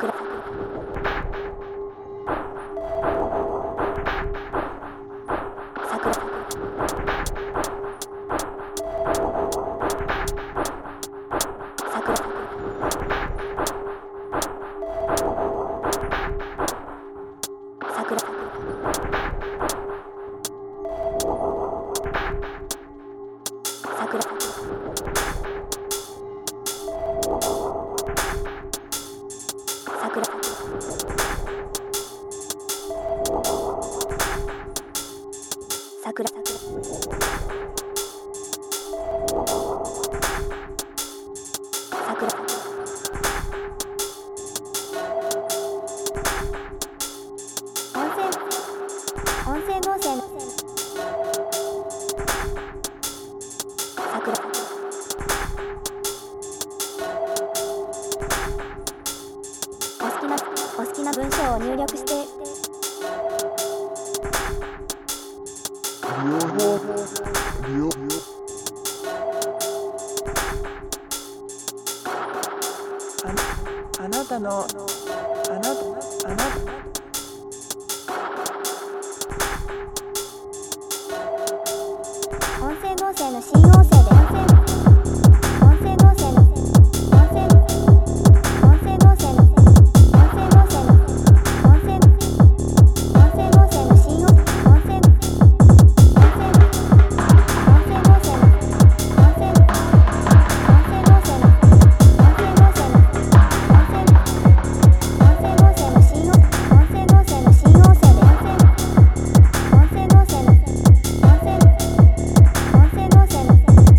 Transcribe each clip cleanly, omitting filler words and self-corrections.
音声合成のお好きな文章を入力してあなたの音声合成の新音声で音声合成の音声合成の新音声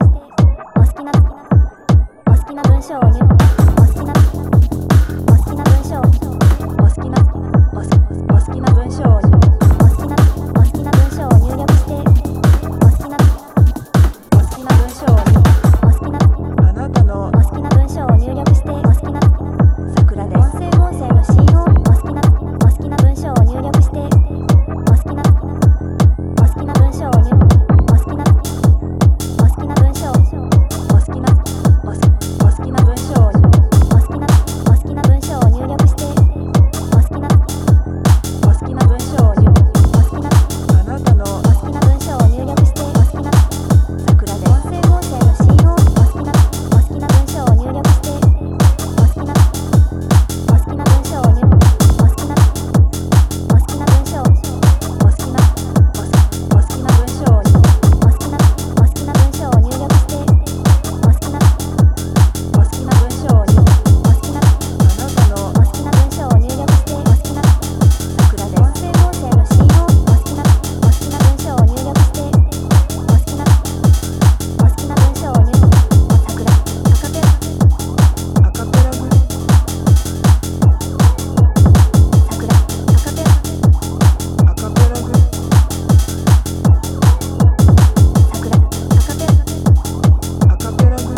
お好きな文章を入力お好きな文章お好きな文章を入力してお好きな文章をあなたのお好きな文章を入力してお好きな桜です。 音声の C 音お好きな文章を入力してお好きな文章を入力お好きな文章お好きな文章を入力してお好きな文章を入力あなたのお好きな文章を入力してお好きな桜です。 音声の C 音お好きな文章を入力してお好きな文章を入力お好きな文章を入力してお好きな文章を入力あなたのお好きな文章を入力してお好きな桜です。 音声の C 音お好きな文章を入力してお好きな文章を入力アカペラグアカペラグアカペラグ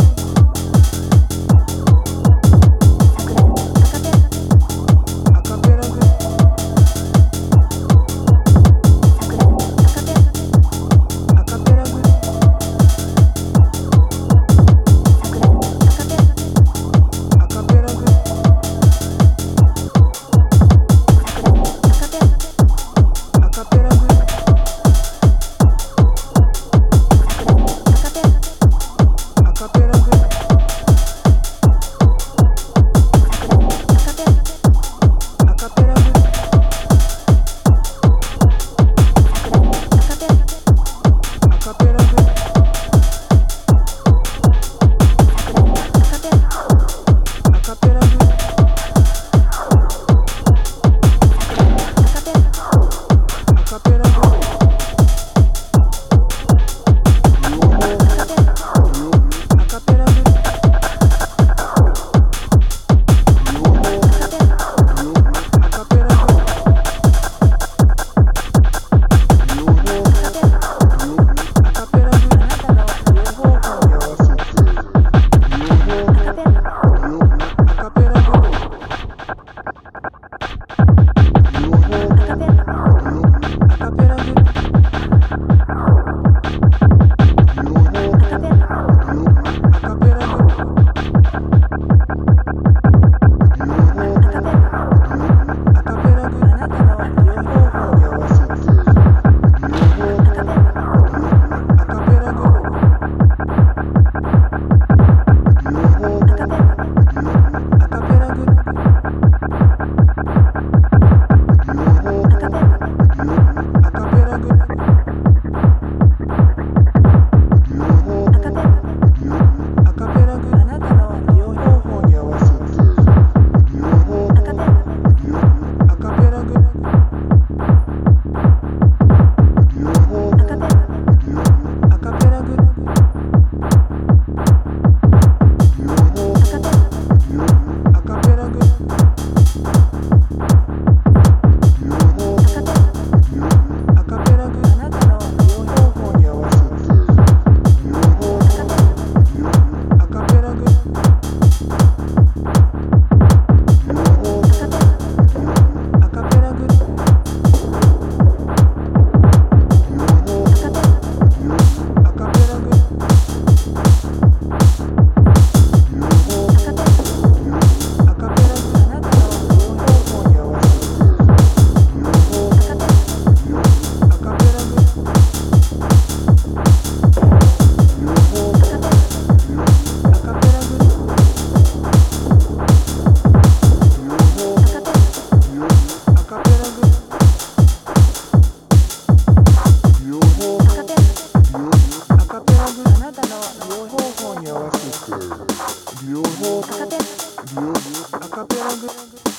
アカペラグアカペラグアカペラグアカペラグアカペラグアカペラグアカペラグアカペラグアカペラグアカペラグアカペラグアカペラグあなたの両方向に合わせてアカペラグアカペラグアカペラグアカペラグあなたの両方向に合わせてアカペラグアカペラグアカペラグアカペラグあなたの両方向に合わせてアカペラグアカペラグアカペラグアカペラグあなたの両方向に合わせてアカペラグアカペラグアカペラグアカペラグあなたの両方向に合わせてアカペラグアカペラグアカペラグアカペラグあなたの両方向に合わせてアカペラグ